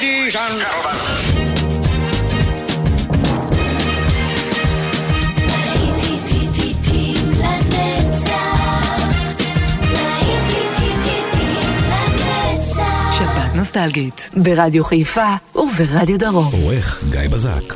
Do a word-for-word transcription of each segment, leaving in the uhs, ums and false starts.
Ladies and gentlemen. שבת נוסטלגית ברדיו חיפה וברדיו דרום. עורך גיא בזק.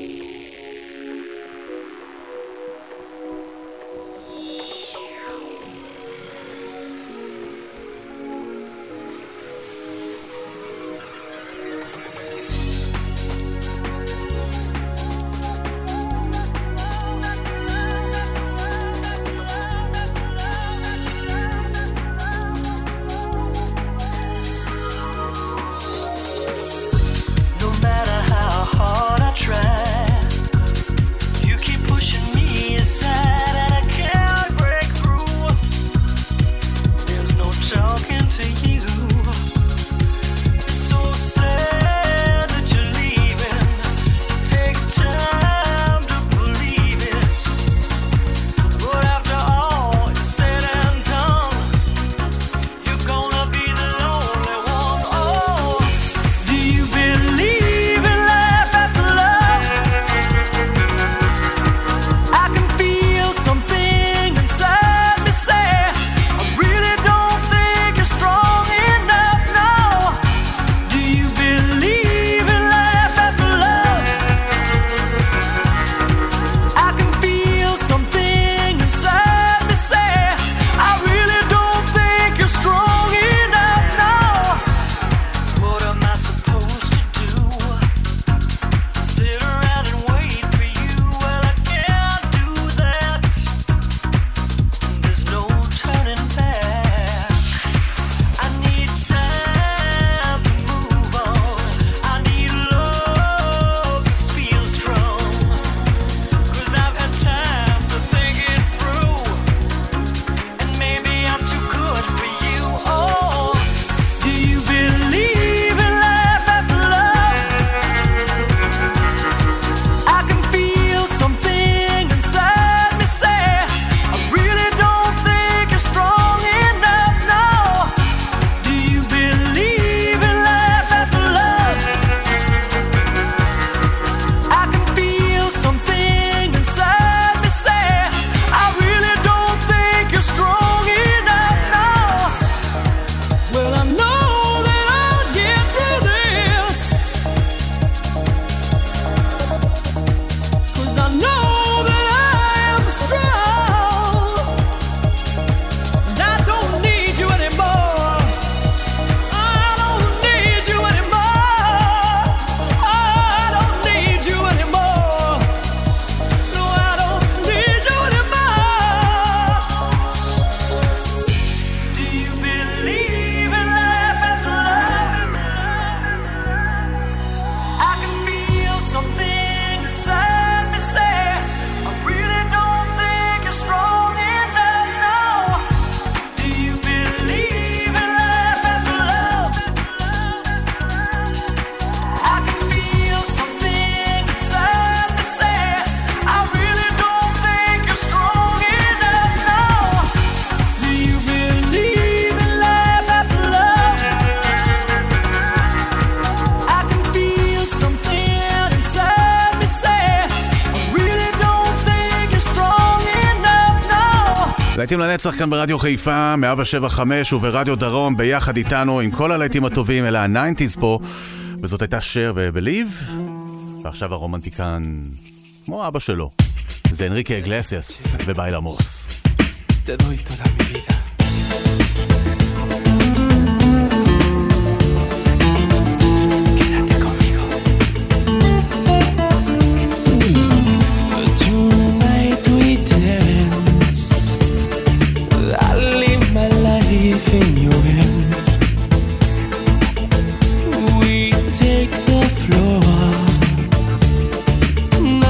להיטים לנצח כאן ברדיו חיפה, מאה שבע חמש וברדיו דרום, ביחד איתנו עם כל הלהיטים הטובים, אלה ה-תשעים פה, וזאת הייתה שר ובליב, ועכשיו הרומנטיקן, כמו אבא שלו, זה אנריקה אגלסיאס וביילמוס. Te doy toda mi vida.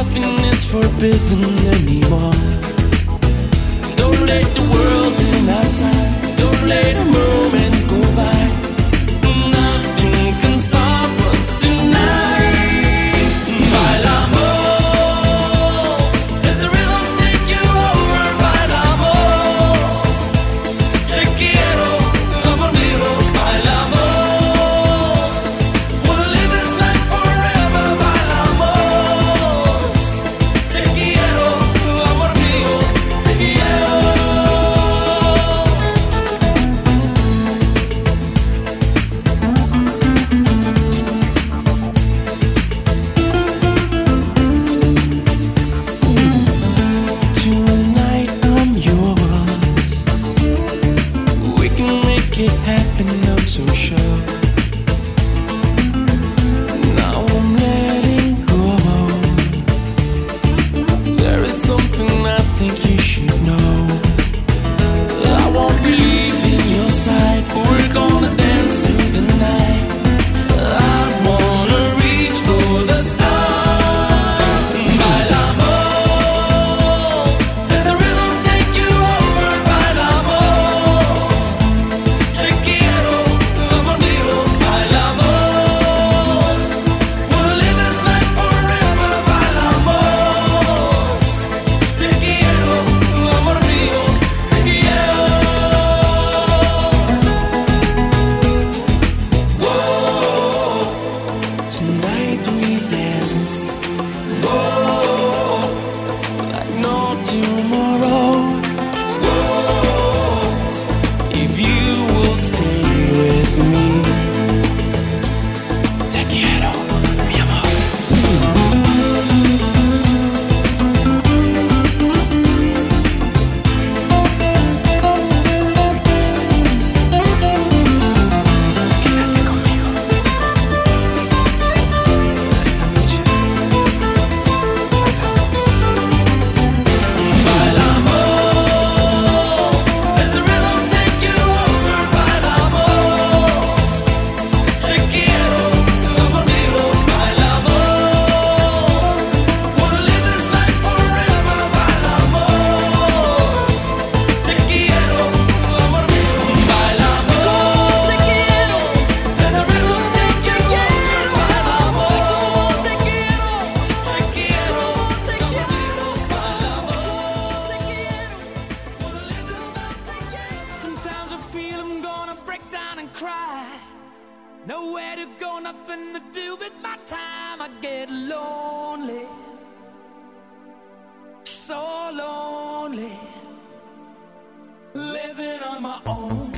Forbidden anymore. Don't let the world do not got nothing to do with my time, I get lonely, so lonely, living on my own.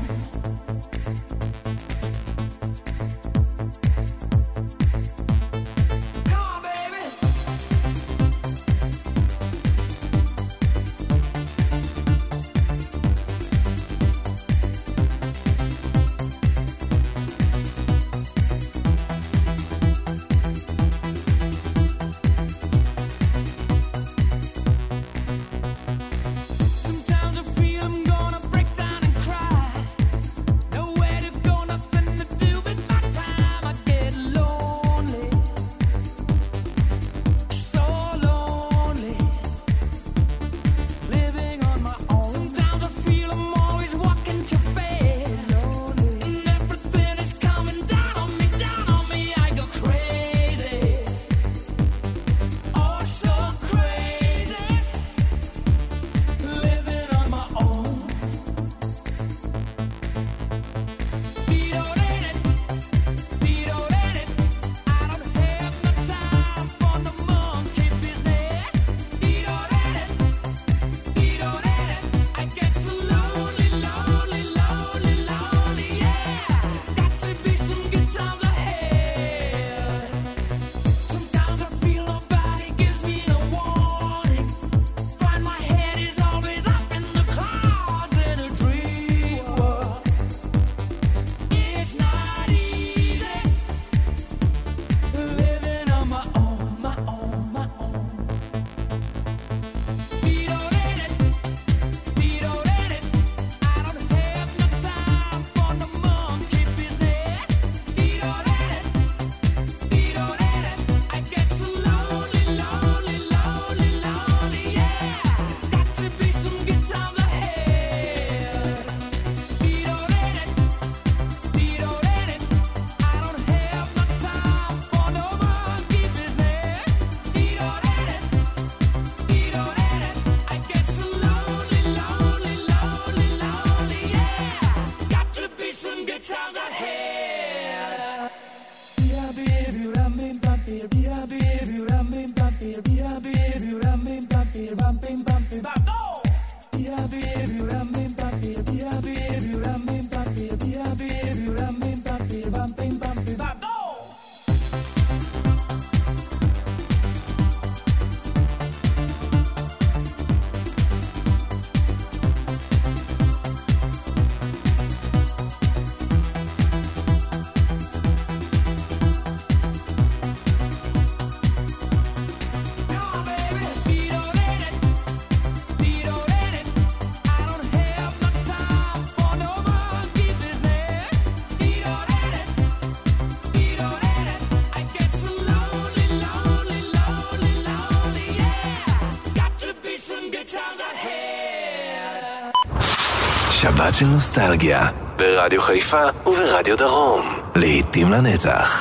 שבת של נוסטלגיה, ברדיו חיפה וברדיו דרום, לעתים לנצח.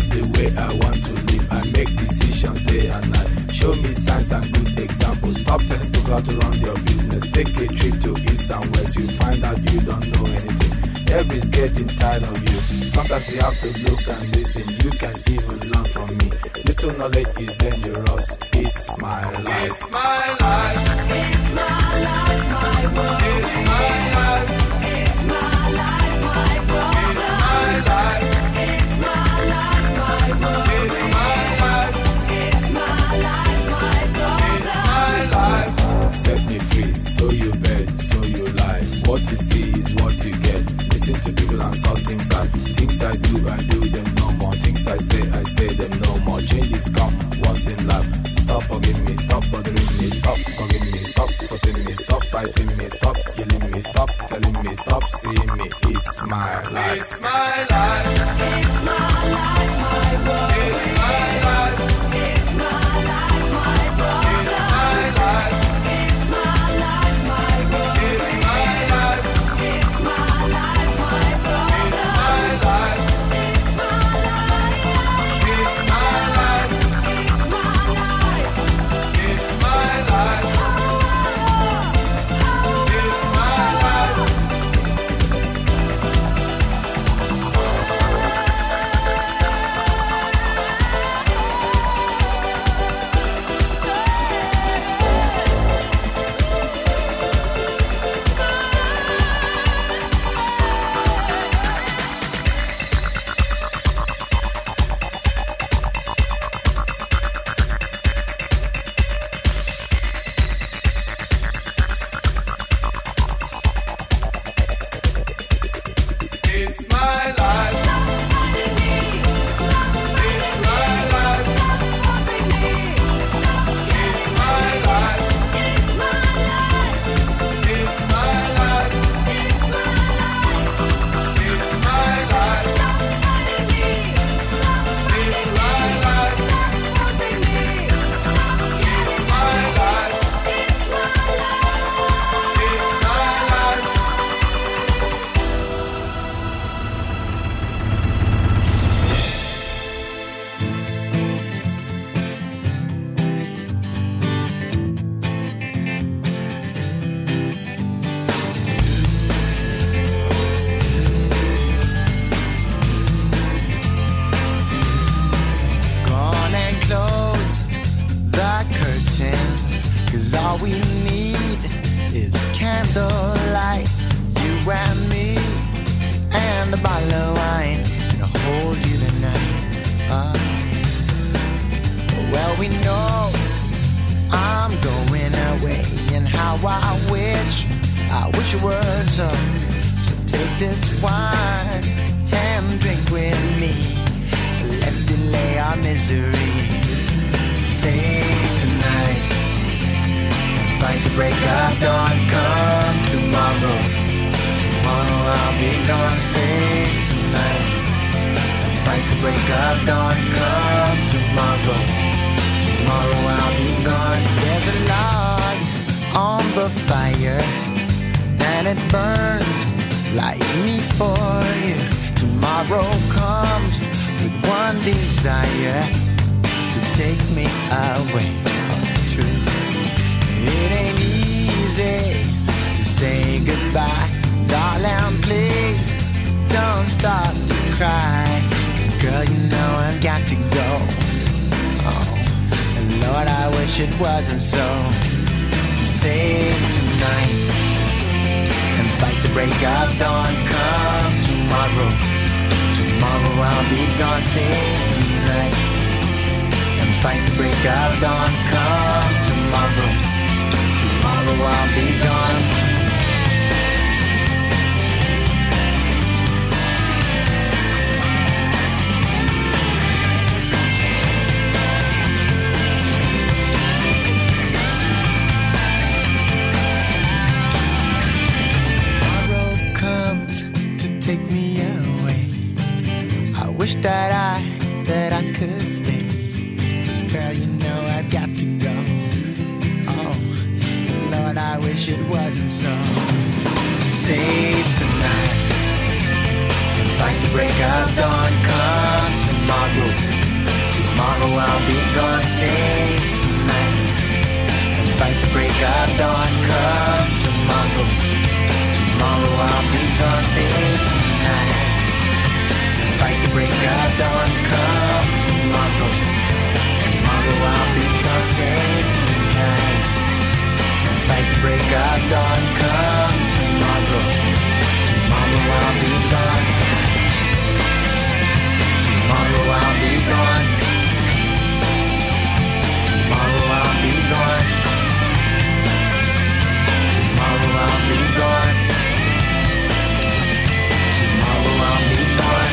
Stop how to run your business. Take a trip to east and west, you find out you don't know anything. Everybody's getting tired of you. Sometimes you have to look and listen. You can even learn from me. Little knowledge is dangerous. It's my life. It's my life. It's my life, my world. It's my life. It's my life, my brother. It's my life. It's my life, my world. It's my life. It's my life, my brother. It's my life. Set me free, so you bet, so you lie. What you see is what you get. Listen to people and saw things I Things I do, I do them no more. Things I say, I say them no more. Changes come once in life. Stop forgiving me, stop bothering me, stop forgiving me, stop forcing me, stop fighting me, stop killing me, stop telling me, stop seeing me. It's my life. It's my life. It's my life, my world. It's my life. It's my life, my brother. It's my life. It's my life, my world. It's my life. It's my life, my brother. It's my life. It's my life. It's my life. It's my life. It's my life. It's my life. It's my life. It's my life. It's my life. It's my life. It's my life. It's my life. It's my life. Gone and close the curtains, 'cause all we need is candlelight. You and me, and a bottle of wine, and I'll hold you tonight. Ah. Well, we know I'm going away, and how I wish, I wish it were so. So take this wine and drink with me. Let's delay our misery. Sing tonight and fight the break of dawn. Come tomorrow, tomorrow I'll be gone. Sing tonight and fight the break of dawn. Come tomorrow, tomorrow I'll be gone. There's a log on the fire and it burns like me for you. Tomorrow comes with one desire, to take me away. Oh, it's true. It ain't easy to say goodbye. Darling, please don't start to cry. 'Cause girl, you know I've got to go. Oh, and Lord, I wish it wasn't so. Save tonight and fight the break of dawn. Come tomorrow, tomorrow I'll be gone. Save tonight and fight the break of dawn. Come tomorrow, tomorrow I'll be gone. Tomorrow comes to take me away. I wish that I, that I could stay. Girl, you know I've got to go. Oh, Lord, I wish it wasn't so. Save tonight and fight the break of dawn. Come tomorrow, tomorrow I'll be gone. Save tonight and fight the break of dawn. got dawn. Come tomorrow, tomorrow I'll be gone. Tomorrow I'll be gone. Tomorrow I'll be gone. Tomorrow I'll be gone. Tomorrow I'll be gone.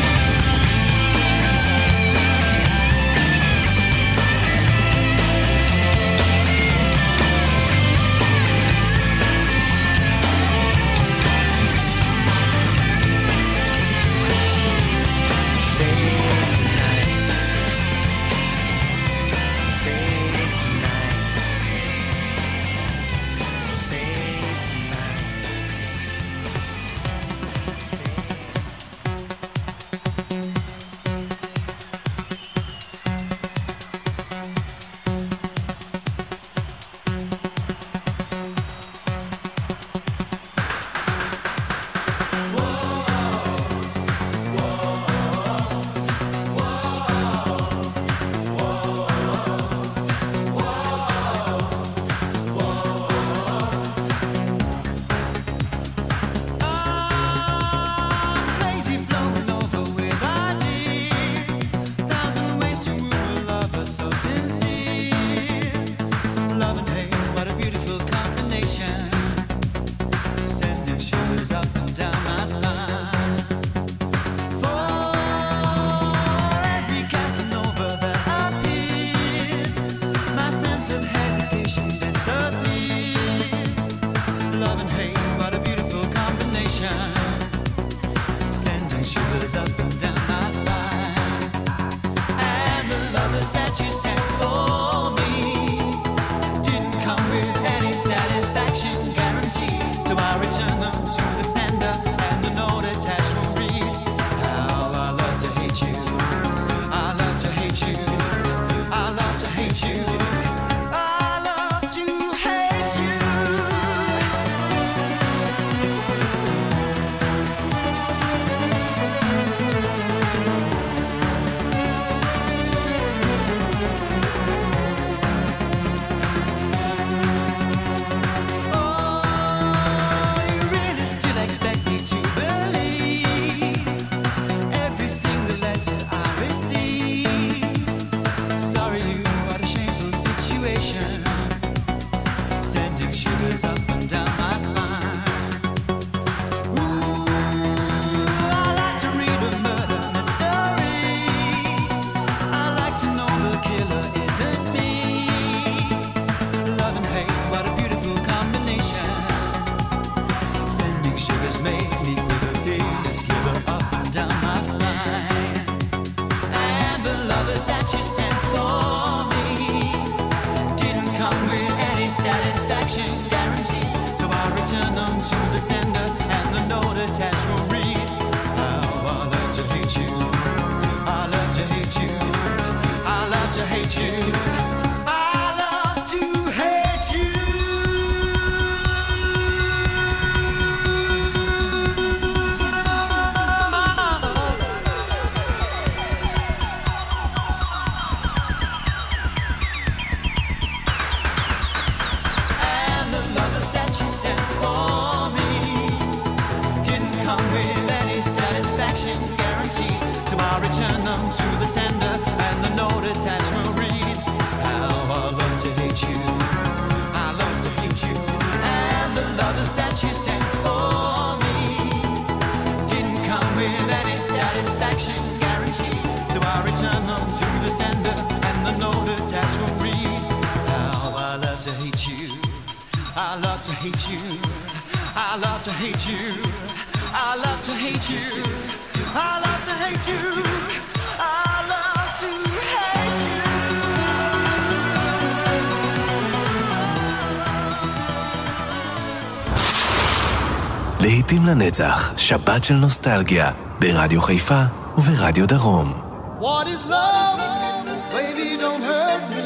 להיטים לנצח, שבת של נוסטלגיה, ברדיו חיפה וברדיו דרום. What is love? Baby, don't hurt me.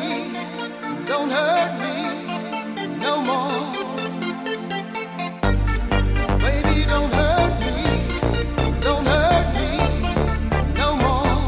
Don't hurt me no more. Baby, don't hurt me. Don't hurt me no more.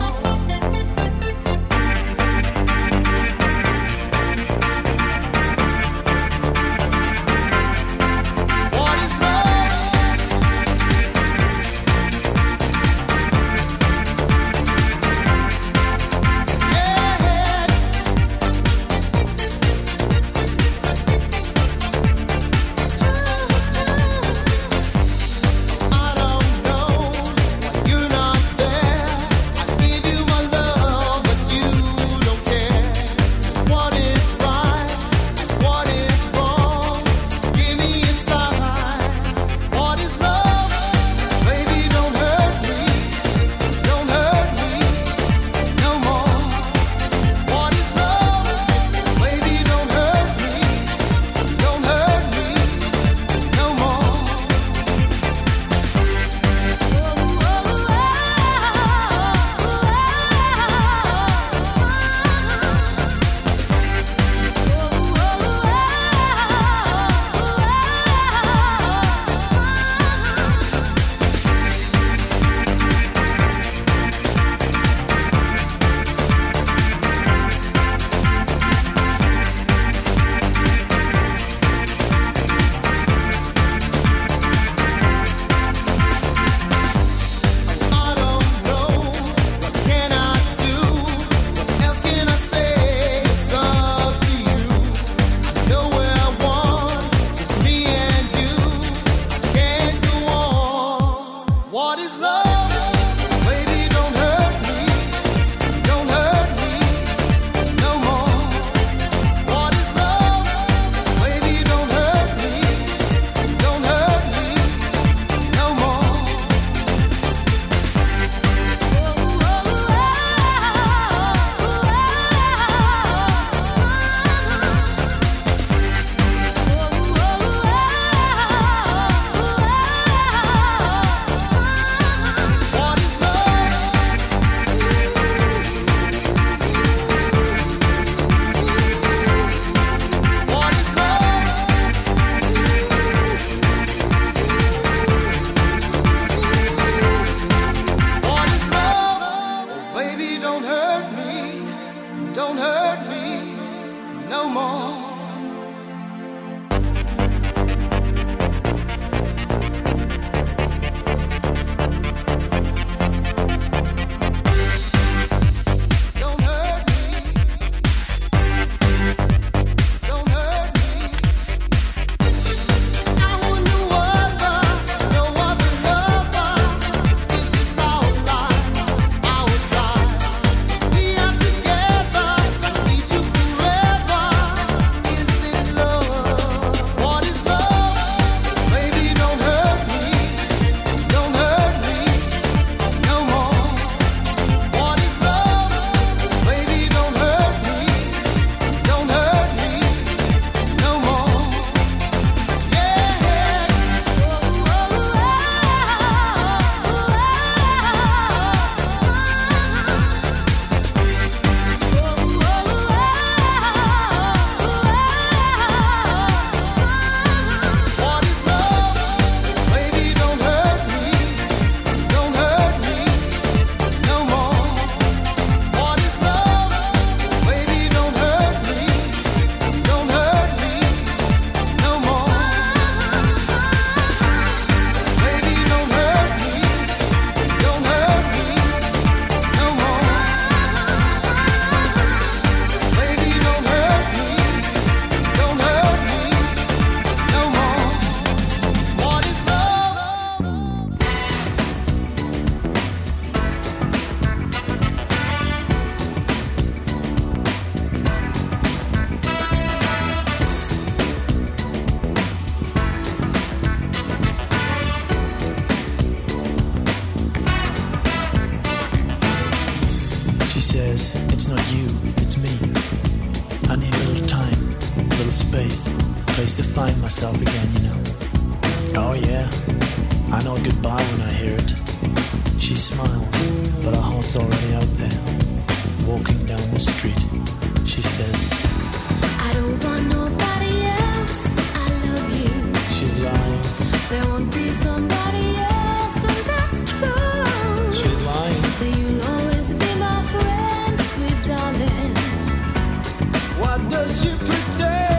It's not you, it's me. I need a little time, a little space, a place to find myself again, you know. Oh yeah, I know goodbye when I hear it. She smiles, but her heart's already out there. Walking down the street, she says, I don't want nobody else, I love you. She's lying. There won't be somebody else, and that's true. She's lying. So you'll always be my friend, sweet darling. What does she pretend?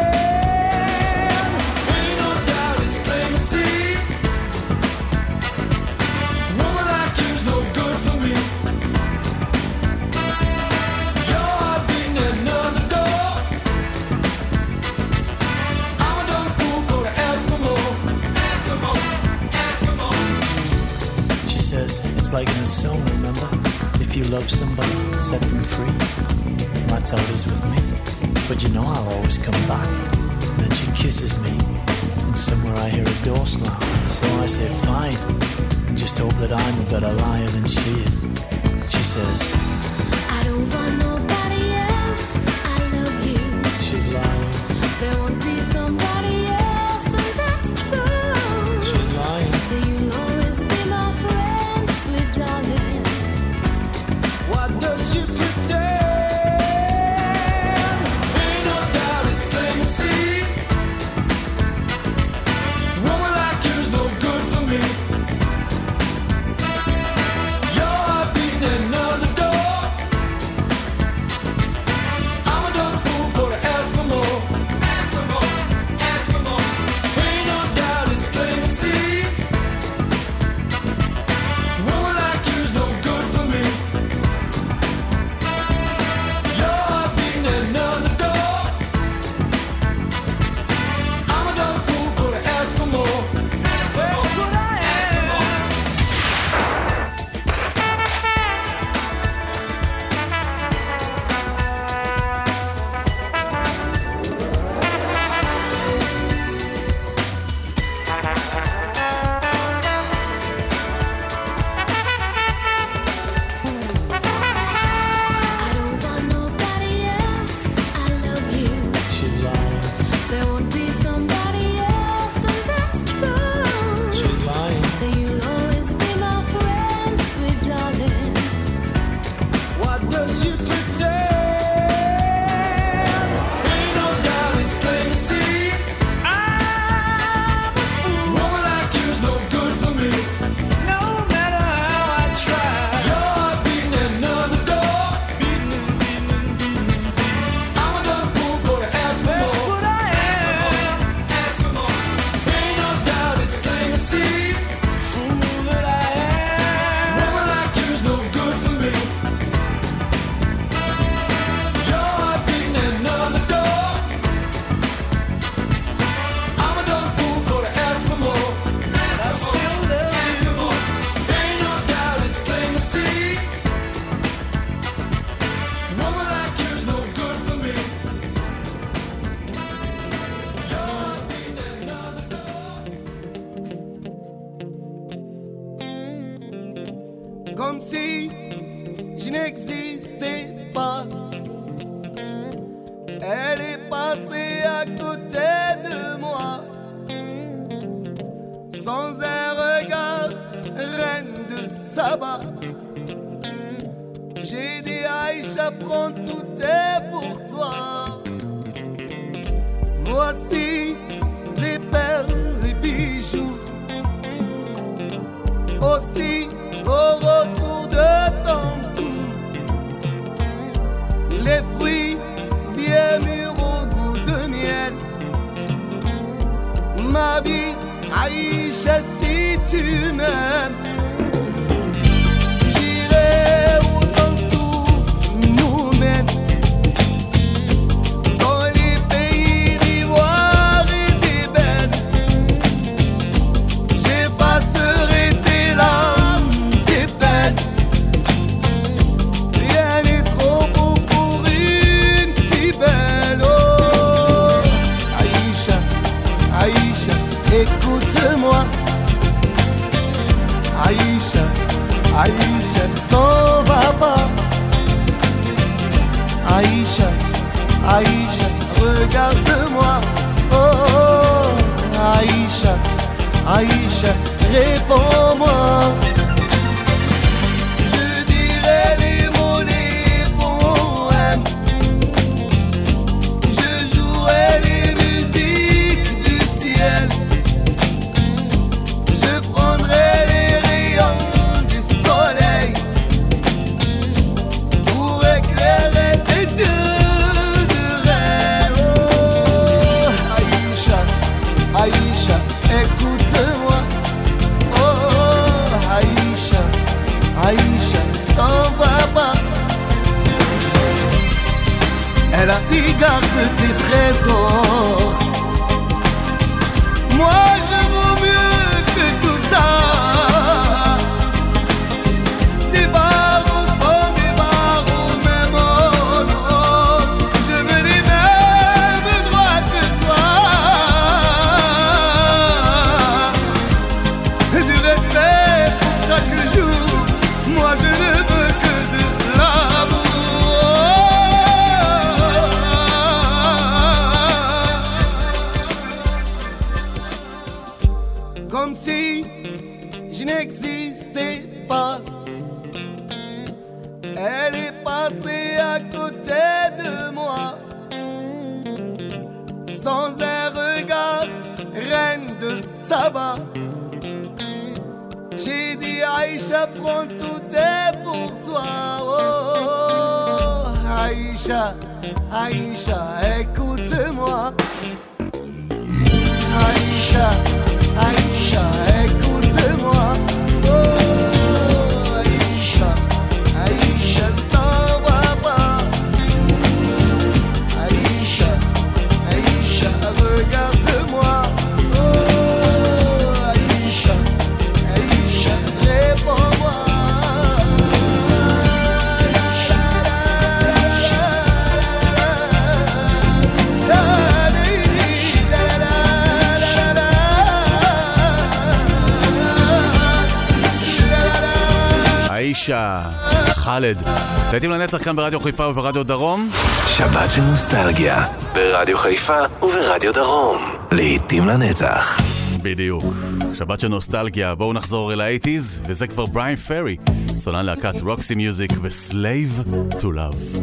Ain't no doubt it's plain to see. Woman like you's no good for me. Your heart beating at another door. I'm a dumb fool for to ask for more. Ask for more, ask for more. She says, it's like in the song, remember? If you love somebody, set them free. That's how it is with me. But you know I'll always come back. And then she kisses me, and somewhere I hear a door slam. So I say fine, and just hope that I'm a better liar than she is. She says, I don't want nobody else, I love you. she's lying. There won't be somebody else, and that's true. She's lying. So you'll always be my friend, sweet darling. What does she pretend? Ain't no doubt it's plain to see. Woman like you's no good for me. Your heart beating at another door. I'm a dumb fool for to ask for more. Ask for more, ask for more. Ain't no doubt it's plain to see. Woman like you's no good for me. Your heart beating at another door. I'm a dumb fool for to ask for more. Ask for more, ask for more. I don't want nobody else, I love you. She's lying. There won't be somebody else, and that's true. She's lying. So you'll always be my friend, sweet darling. What does she pretend? Ain't no doubt it's plain to see. I'm a fool. Woman like you's no good for me. No matter how I try. Your heart beating at another door. I'm a dumb fool for to ask for That's more. what I am. Ask for more. Ain't no doubt it's plain to see. Fool that I am. Woman like you's no good for me. Your heart beating at another door. I'm a dumb fool for to ask for more. I still love you. Ain't no doubt it's plain to see. Woman like you's no good for me. Your heart beating at another door. Comme si je n'existais pas. Elle est passée à côté de moi, sans un regard, reine de Saba. J'ai dit Aïcha, prends tout est pour toi. Voici les perles, les bijoux. Aussi au retour de ton cou, les fruits bien mûrs au goût de miel. Ma vie, Aïcha, si tu m'aimes, j'irai où ton souffle nous mène. Dans les pays d'ivoire et d'ébène, j'effacerai tes larmes, tes peines. Rien n'est trop beau pour une si belle. Oh, Aïcha, Aïcha, écoute-moi. Aïcha, Aïcha, t'en vas pas. Aïcha, Aïcha, regarde-moi. Oh, Aïcha, Aïcha, réponds-moi. Je dirai les mots, les poèmes. Je jouerai les musiques du ciel. Je prendrai les rayons du soleil pour éclairer tes yeux de rêve. Oh, Aïcha, Aïcha, écoute-moi. Oh, Aïcha, Aïcha, t'en vas pas. Elle a dit garde tes trésors. Moi je vaux mieux que tout ça. Des barreaux sont des barreaux, même oh non. Je veux les mêmes droits que toi. Du respect pour chaque jour. Moi je ne veux que de l'amour. Comme si je n'existais pas. Elle est passée à côté de moi. Sans un regard, reine de Saba. J'ai dit Aïcha, prends tout est pour toi. Oh, Aïcha, Aïcha, écoute-moi. Aïcha, Aïcha, écoute-moi. Oh, Aïcha, Aïcha, t'en vas pas. Aïcha, Aïcha, regarde-moi. Oh, Aïcha, Aïcha, réponds-moi. איישה, חאלד. להיטים לנצח כאן ברדיו חיפה וברדיו דרום. שבת של נוסטלגיה, ברדיו חיפה וברדיו דרום. להיטים לנצח. בדיוק. שבת של נוסטלגיה. בואו נחזור אל ה-שמונים, וזה כבר בריין פרי, סולן להקת רוקסי מיוזיק ו-Slave to Love.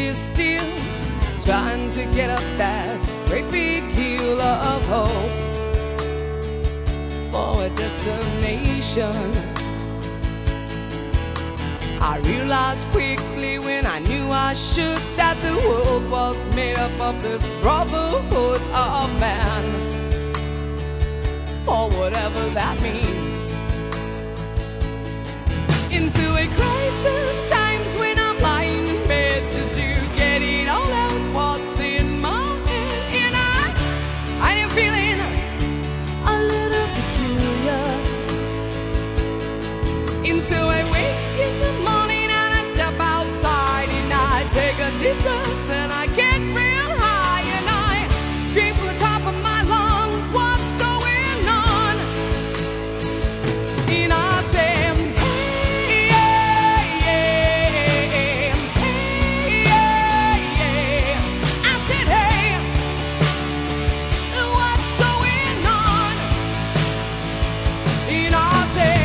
is still trying to get up that great big hill of hope for a destination. I realized quickly when I knew I should that the world was made up of this brotherhood of man, for whatever that means. Into a crisis times when I'm lying in bed just to get it all out what's in my head, and I, I am feeling a little peculiar. And so I wake in the morning and I step outside and I take a deep breath and I get real high and I scream from the top of my lungs, what's going on? And I say, hey, yeah, yeah, hey, yeah, yeah. I said, hey, what's going on? And I say,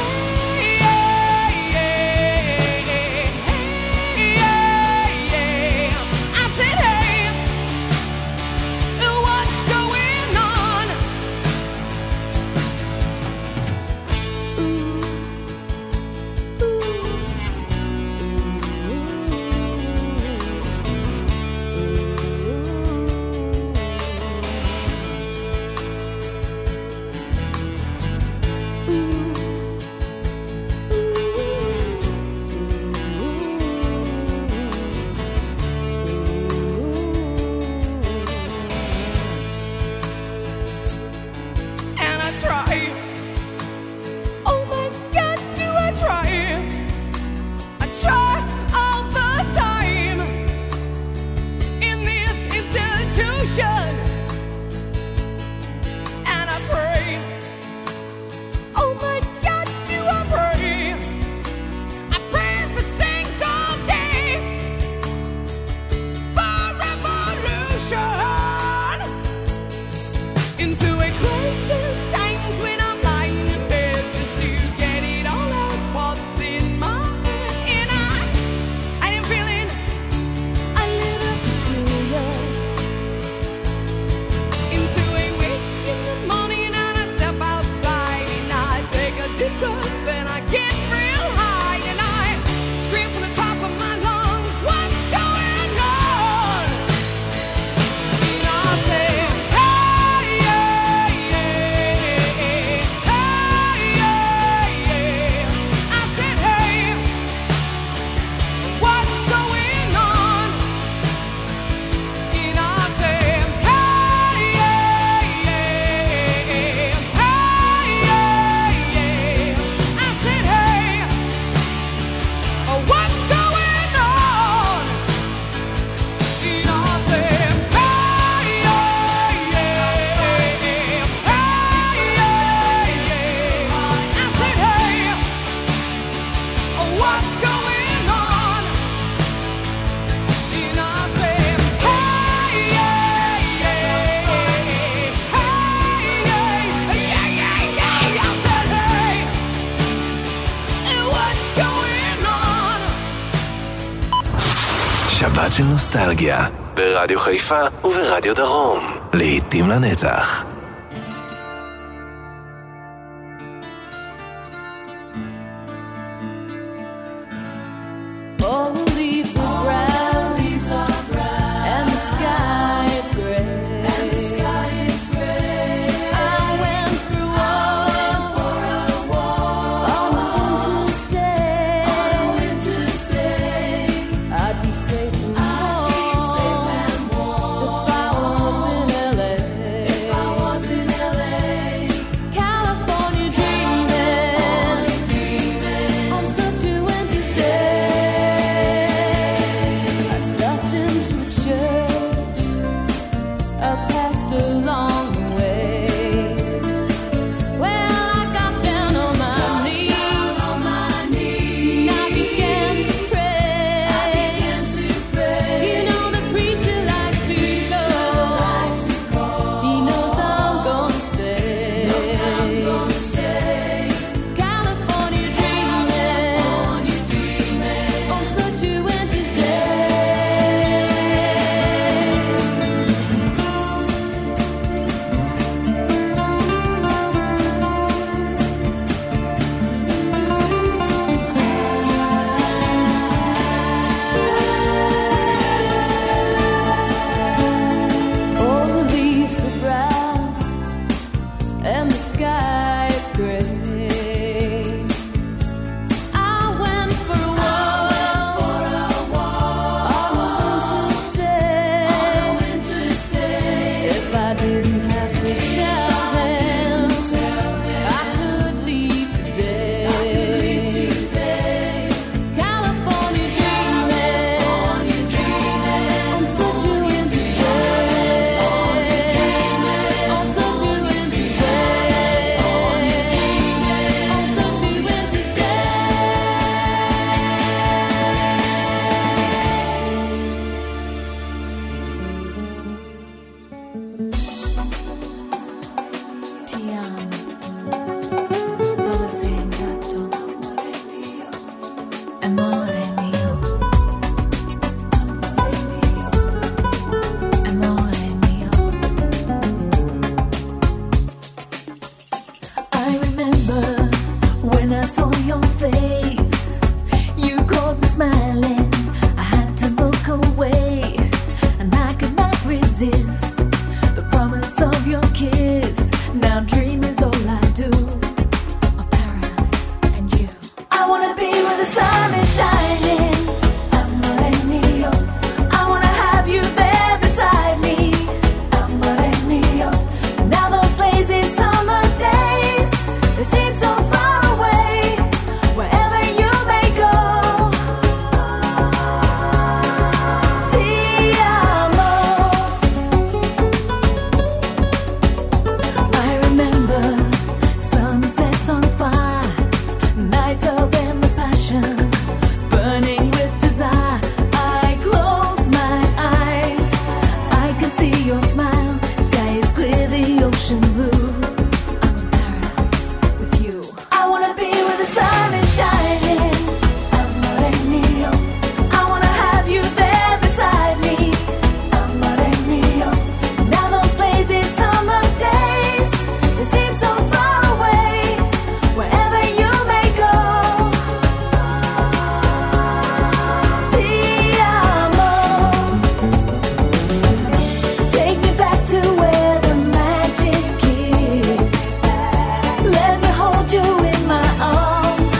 שבת של נוסטלגיה, ברדיו חיפה וברדיו דרום. להיטים לנצח. All the leaves are brown, leaves are brown, and the sky is gray. And the sky is gray. I went through war on a winter's day. On a winter's day, I'd be safe and warm if I was in L A. If I was sky is gray. I went for a walk on a winter's day. If I didn't have to tell them, I could leave today. California dreaming on such a winter's day. On such a winter's day. On such a winter's Ti amo, dove sei andato? Amore mio, amore mio. I remember when I saw your face. You caught me smiling. I had to look away, and I could not resist the promise of your kiss. Now dream is all I do of paradise and you. I wanna be where the sun is shining. Amore mio. I wanna have you there beside me. Amore mio. Now those lazy summer days, they seem so far away. Wherever you may go. Ti amo. I remember sunsets on fire, nights of endless passion, burning with desire. I close my eyes, I can see your smile. Sky is clear, the ocean blue. I'm in paradise with you. I wanna be where the sun is shining. Amore mio. I wanna have you there beside me. Amore mio. Now those lazy summer days, they seem so far away. Wherever you may go. Ti amo. Take me back to where the magic is. Let me hold you in my arms.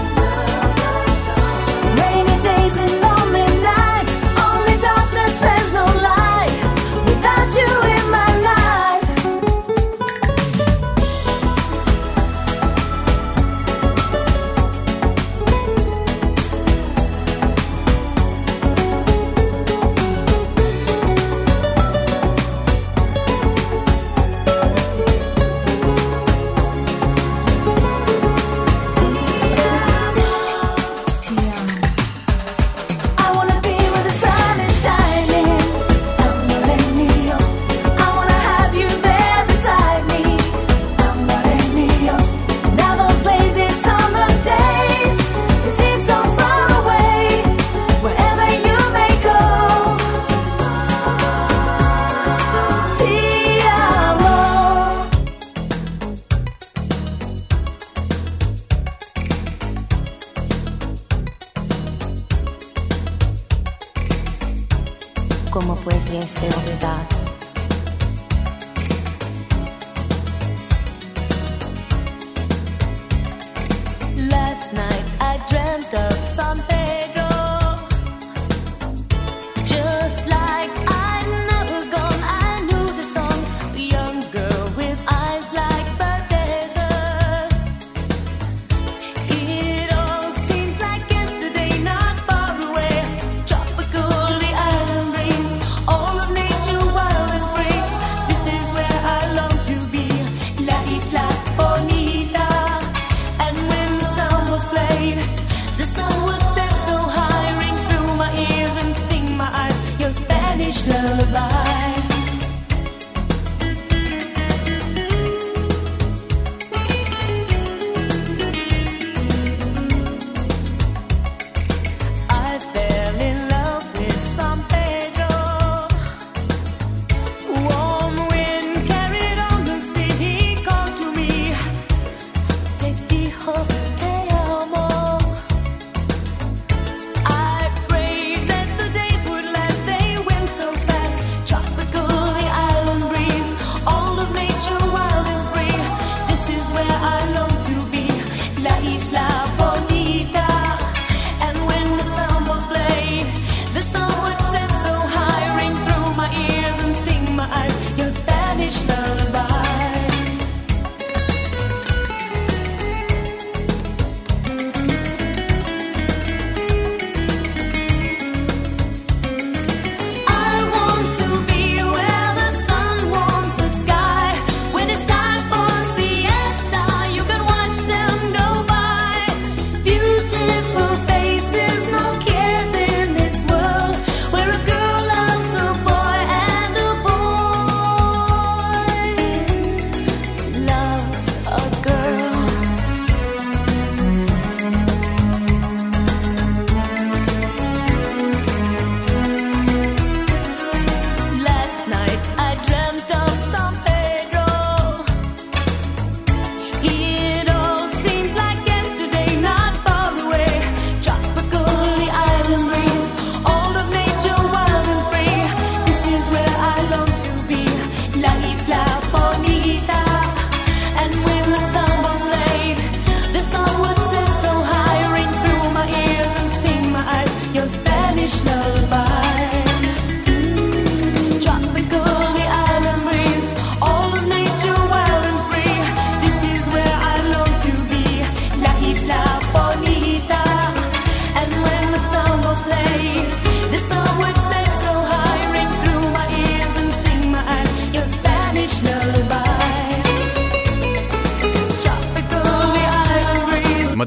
Rainy days and lonely nights, only darkness, there's no light without you in my life. Ti amo. I wanna be where the sun is shining. Amore mio. I wanna have you there beside me. Amore mio. Now those lazy summer days, they seem so far away. Wherever you may go. Ti amo. ¿Cómo pudiese olvidar? Last night I dreamt of San Pedro, just like I'd never gone. I knew the song, the young girl with eyes like the desert. It all seems like yesterday, not far away. Tropical, the island breeze, all of nature was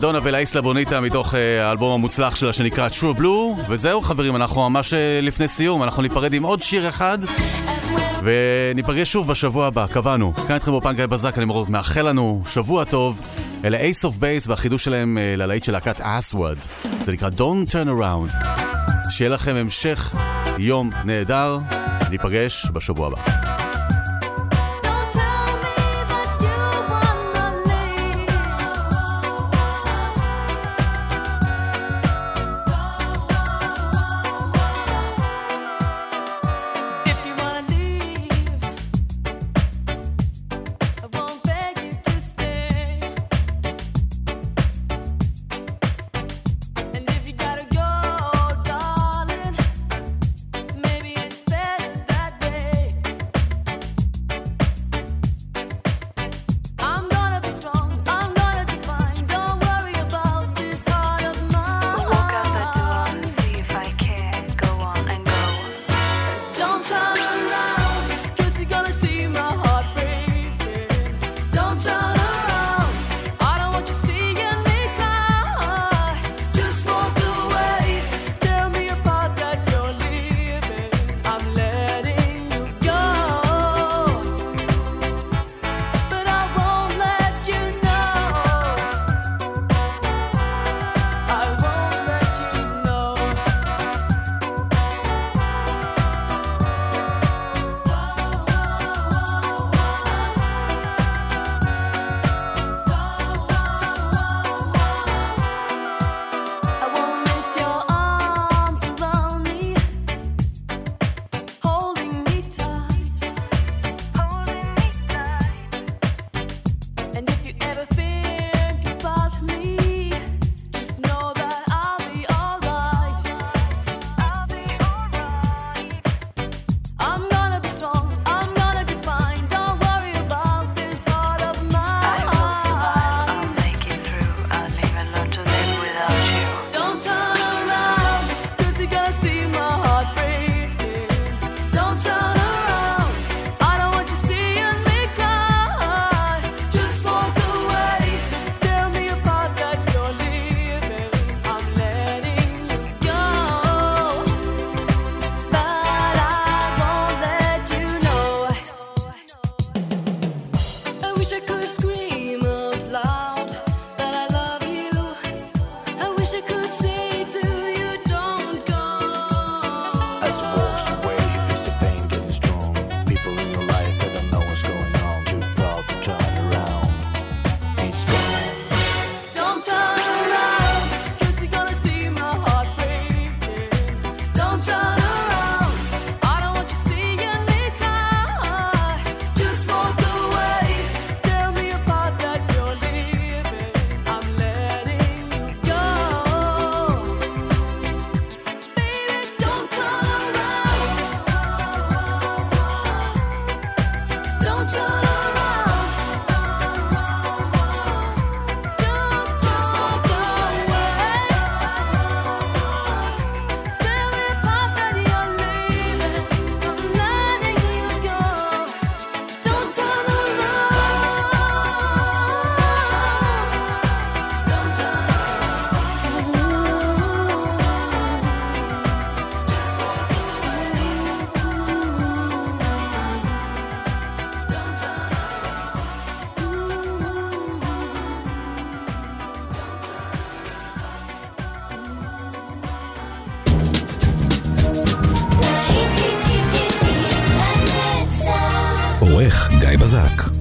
מדונה ולאיסלה בוניטה מתוך האלבום המוצלח שלה שנקרא True Blue. וזהו חברים, אנחנו ממש לפני סיום, אנחנו ניפרד עם עוד שיר אחד וניפגש שוב בשבוע הבא, קבענו. כאן איתכם באופן גיא בזק, אני מאוד מאחל לנו שבוע טוב. אלה Ace of Base והחידוש שלהם ללהיט של להקת Aswad, זה נקרא Don't Turn Around. שיהיה לכם המשך יום נהדר, ניפגש בשבוע הבא. עורך גיא בזק.